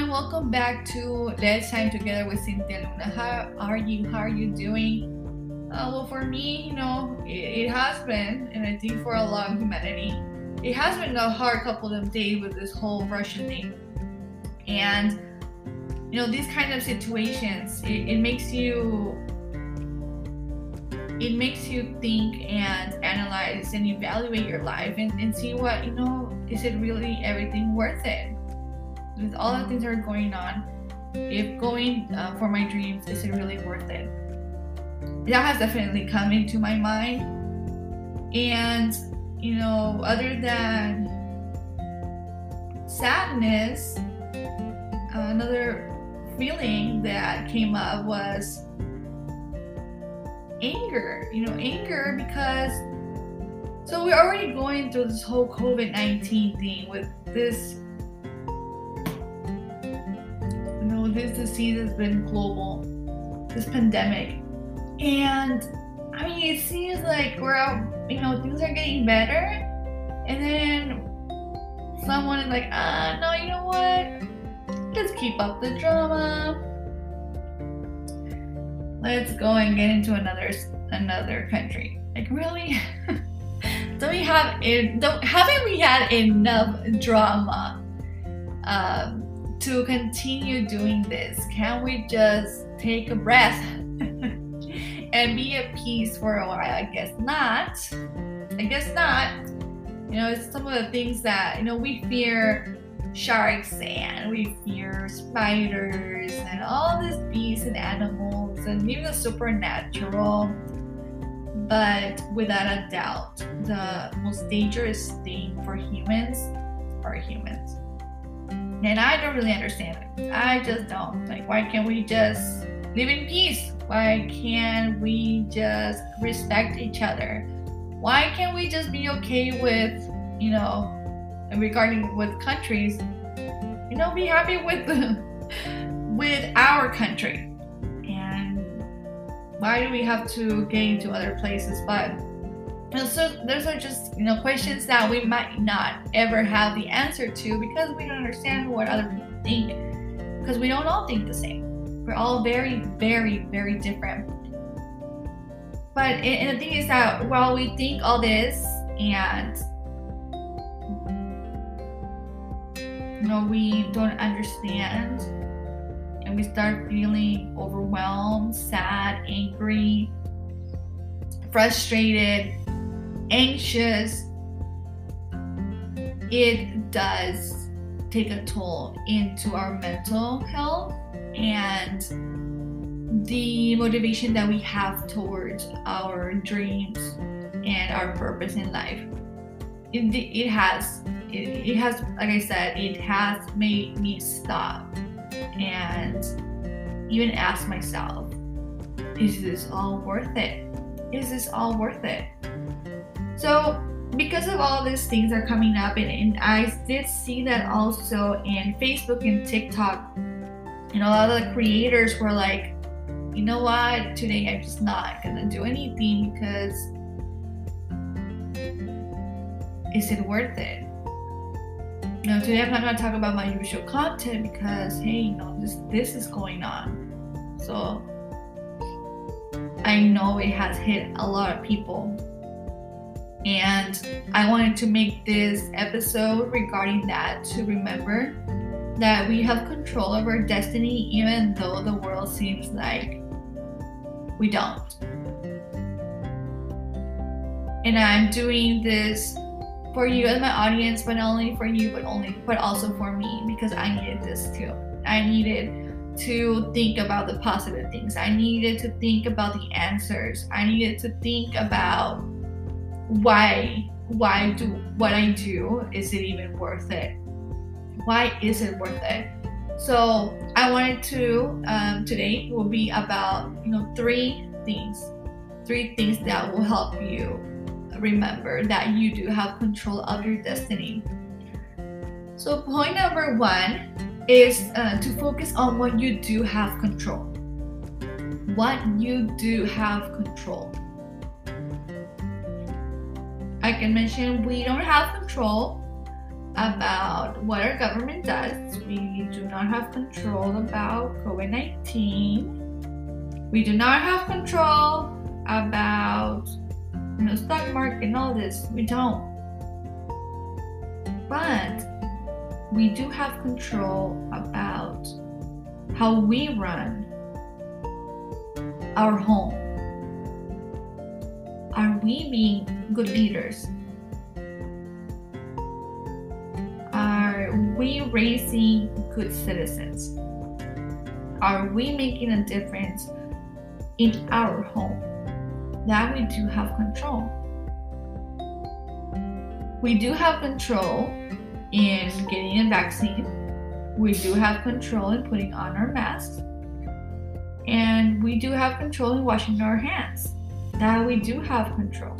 everyone, welcome back to Let's Time Together with Cynthia Luna. How are you? How are you doing? Well, for me, it has been, and I think for a lot of humanity, it has been a hard couple of days with this whole Russian thing. And these kind of situations, it makes you think and analyze and evaluate your life and see what, is it really everything worth it? With all the things that are going on, if going for my dreams, is it really worth it? That has definitely come into my mind. And, other than sadness, another feeling that came up was anger. Anger because so we're already going through this whole COVID-19 thing with this this disease has been global, this pandemic, and it seems like we're out, things are getting better, and then someone is like, no, you know what, let's keep up the drama, let's go and get into another country. Like, really? Haven't we had enough drama to continue doing this? Can we just take a breath and be at peace for a while? I guess not. It's some of the things that, we fear sharks and we fear spiders and all these beasts and animals and even the supernatural. But without a doubt, the most dangerous thing for humans are humans. And I don't really understand it. I just don't. Like, why can't we just live in peace? Why can't we just respect each other? Why can't we just be okay with, and regarding with countries, be happy with our country? And why do we have to get into other places? But so those are just questions that we might not ever have the answer to because we don't understand what other people think, because we don't all think the same. We're all very, very, very different. But and the thing is that while we think all this and we don't understand, and we start feeling overwhelmed, sad, angry, frustrated, anxious, it does take a toll into our mental health and the motivation that we have towards our dreams and our purpose in life. It has, like I said, it has made me stop and even ask myself, is this all worth it? Is this all worth it? So because of all these things are coming up, and I did see that also in Facebook and TikTok, a lot of the creators were like, you know what, today I'm just not gonna do anything because is it worth it? Today I'm not gonna talk about my usual content because hey, this is going on. So I know it has hit a lot of people. And I wanted to make this episode regarding that to remember that we have control of our destiny even though the world seems like we don't. And I'm doing this for you as my audience, but not only for you, but also for me, because I needed this too. I needed to think about the positive things. I needed to think about the answers. I needed to think about why do what I do, is it even worth it? Why is it worth it? So I wanted to today will be about three things that will help you remember that you do have control of your destiny. So point number one is to focus on what you do have control. What you do have control. I can mention we don't have control about what our government does. We do not have control about COVID-19. We do not have control about stock market and all this. We don't. But we do have control about how we run our home. Are we being good leaders? Are we raising good citizens? Are we making a difference in our home? That we do have control. We do have control in getting a vaccine. We do have control in putting on our masks. And we do have control in washing our hands. That we do have control.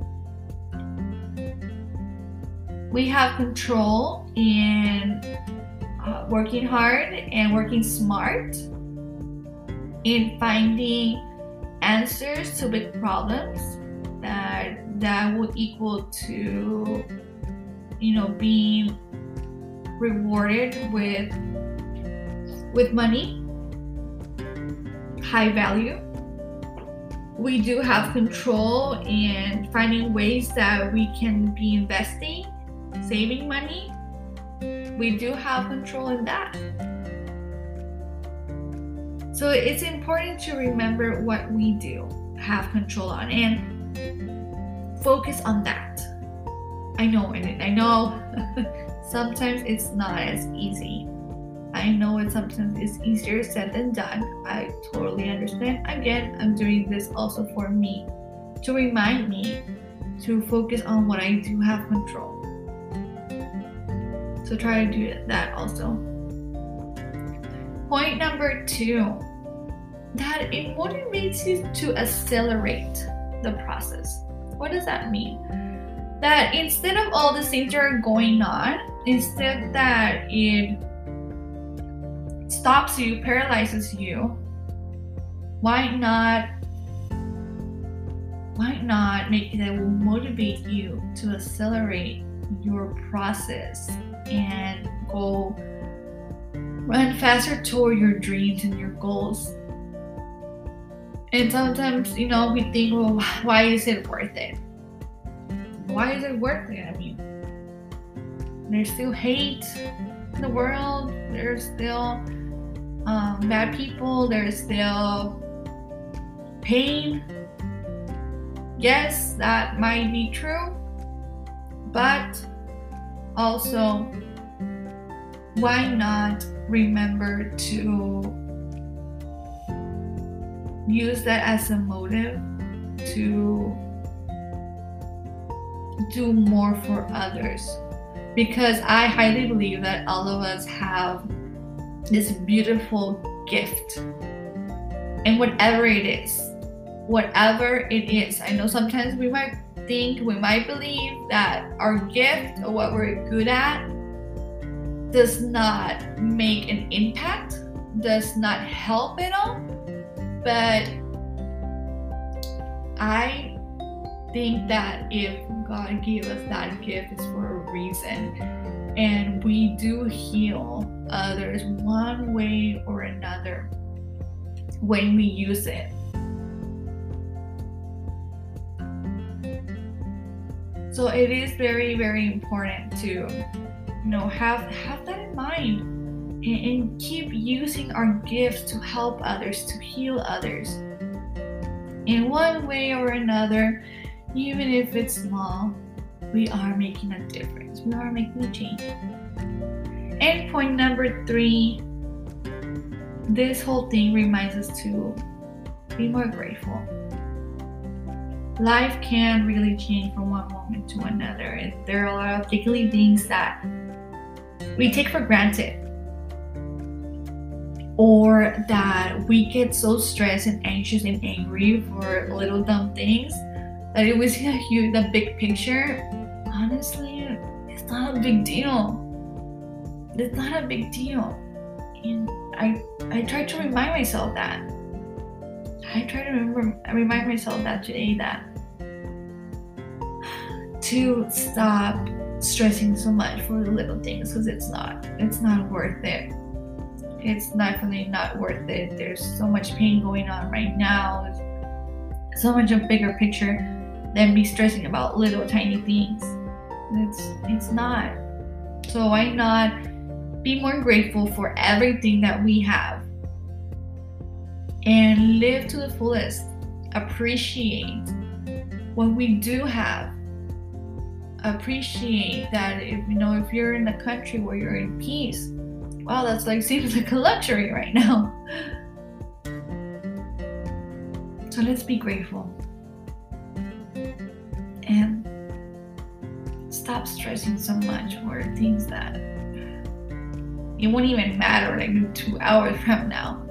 We have control in working hard and working smart, in finding answers to big problems that would equal to being rewarded with money, high value. We do have control in finding ways that we can be investing, saving money. We do have control in that. So it's important to remember what we do have control on and focus on that. I know sometimes it's not as easy. I know sometimes it's easier said than done. I totally understand. Again, I'm doing this also for me, to remind me to focus on what I do have control. So try to do that also. Point number 2, that it motivates you to accelerate the process. What does that mean? That instead of all the things that are going on, instead that it stops you, paralyzes you, why not make it that will motivate you to accelerate your process and go run faster toward your dreams and your goals? And sometimes, we think, well, why is it worth it? Why is it worth it? I mean, there's still hate in the world. There's still bad people. There's still pain. Yes, that might be true. But also, why not remember to use that as a motive to do more for others? Because I highly believe that all of us have this beautiful gift, and whatever it is, I know sometimes we might believe that our gift or what we're good at does not make an impact, does not help at all. But I think that if God gave us that gift, it's for a reason. And we do heal others one way or another when we use it. So it is very, very important to have that in mind and keep using our gifts to help others, to heal others in one way or another. Even if it's small, we are making a difference. We are making a change. And point number 3, this whole thing reminds us to be more grateful. Life can really change from one moment to another, and there are a lot of daily things that we take for granted, or that we get so stressed and anxious and angry for little dumb things that if we see the big picture, honestly, it's not a big deal. It's not a big deal. And I try to remind myself that. I try to remind myself that today, that to stop stressing so much for the little things, because it's not worth it. It's definitely not worth it. There's so much pain going on right now. There's so much a bigger picture than be stressing about little tiny things. It's not. So why not be more grateful for everything that we have and live to the fullest. Appreciate what we do have. Appreciate that if you're in a country where you're in peace, wow, that's like seems like a luxury right now. So let's be grateful and stop stressing so much for things that it won't even matter like 2 hours from now.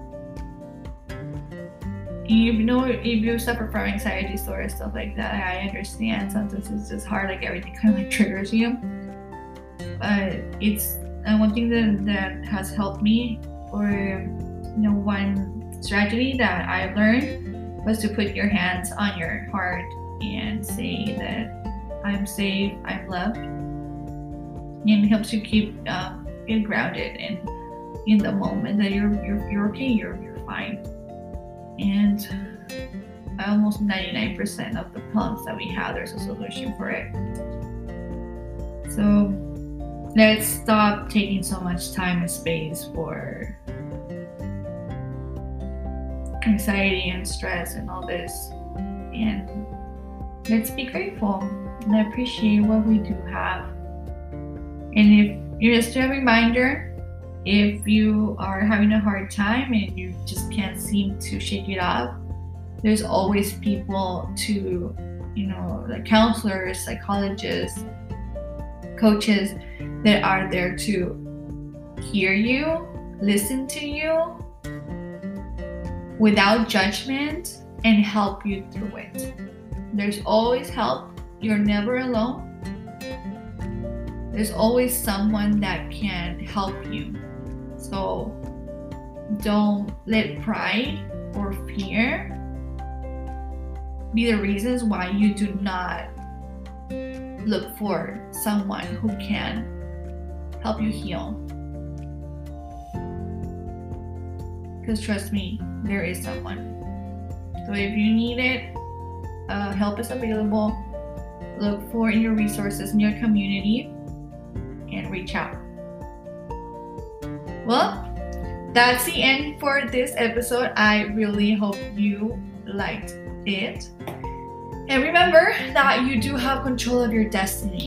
If you suffer from anxiety disorder, stuff like that, I understand. Sometimes it's just hard, like everything kind of like triggers you. But it's one thing that has helped me, or one strategy that I learned was to put your hands on your heart and say that I'm safe, I'm loved, and it helps you keep get grounded and in the moment that you're okay, you're fine. And almost 99% of the problems that we have, there's a solution for it. So let's stop taking so much time and space for anxiety and stress and all this, and let's be grateful and appreciate what we do have. And just a reminder, if you are having a hard time and you just can't seem to shake it off, there's always people to, like counselors, psychologists, coaches that are there to hear you, listen to you without judgment, and help you through it. There's always help. You're never alone. There's always someone that can help you. So don't let pride or fear be the reasons why you do not look for someone who can help you heal. Because trust me, there is someone. So if you need it, help is available. Look for your resources in your community and reach out. Well, that's the end for this episode. I really hope you liked it. And remember that you do have control of your destiny.